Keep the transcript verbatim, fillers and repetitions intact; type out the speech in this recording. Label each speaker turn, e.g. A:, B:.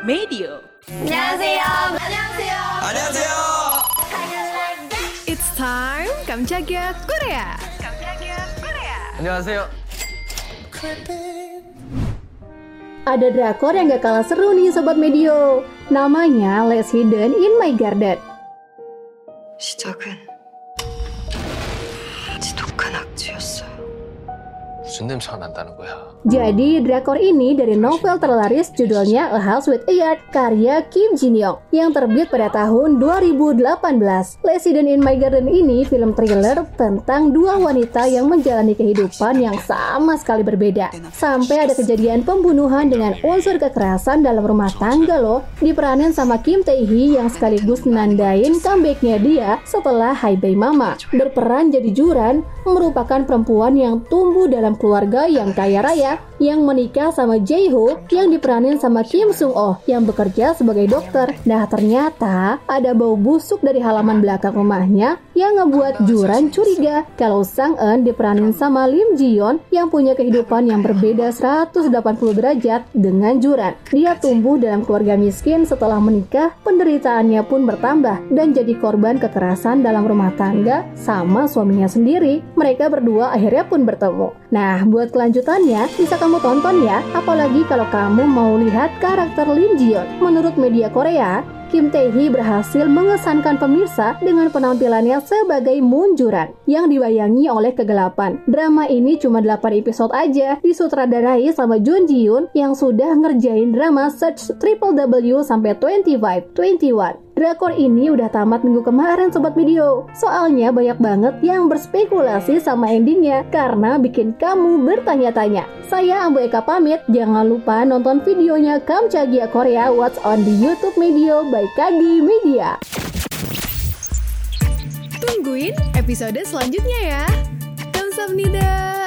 A: Medio.
B: 안녕하세요. 안녕하세요.
C: 안녕하세요.
D: It's time Kamchagia Korea. Kamchagia Korea.
C: 안녕하세요.
E: Ada drakor yang gak kalah seru nih Sobat Medio. Namanya Last Hidden in My Garden.
F: 시작은 지독한 악취였어요.
C: 무슨 냄새가 난다는 거야?
E: Jadi drakor ini dari novel terlaris judulnya A House with a Yard karya Kim Jin Young yang terbit pada tahun dua ribu delapan belas. Last Hidden in My Garden ini film thriller tentang dua wanita yang menjalani kehidupan yang sama sekali berbeda. Sampai ada kejadian pembunuhan dengan unsur kekerasan dalam rumah tangga loh, diperanin sama Kim Tae Hee yang sekaligus menandain comebacknya dia setelah Hai Bae Mama. Berperan jadi Juran merupakan perempuan yang tumbuh dalam keluarga yang kaya raya yang menikah sama Jae Ho yang diperanin sama Kim Sung Oh yang bekerja sebagai dokter. Nah ternyata ada bau busuk dari halaman belakang rumahnya yang ngebuat Juran curiga kalau Sang Eun diperanin sama Lim Ji Yeon yang punya kehidupan yang berbeda seratus delapan puluh derajat dengan Juran. Dia tumbuh dalam keluarga miskin, setelah menikah penderitaannya pun bertambah dan jadi korban kekerasan dalam rumah tangga sama suaminya sendiri. Mereka berdua akhirnya pun bertemu. Nah buat kelanjutannya bisa kamu tonton ya, apalagi kalau kamu mau lihat karakter Lim Ji Yeon. Menurut media Korea, Kim Tae Hee berhasil mengesankan pemirsa dengan penampilannya sebagai Moon Juran yang dibayangi oleh kegelapan. Drama ini cuma delapan episode aja, disutradarai sama Jun Ji Hyun yang sudah ngerjain drama Search Triple W sampai dua puluh lima, dua puluh satu. Drakor ini udah tamat minggu kemarin Sobat Medio. Soalnya banyak banget yang berspekulasi sama endingnya karena bikin kamu bertanya-tanya. Saya Ambu Eka pamit, jangan lupa nonton videonya Kamchagia Korea What's on the YouTube Medio by Kagi Media.
D: Tungguin episode selanjutnya ya. Kamsahamnida.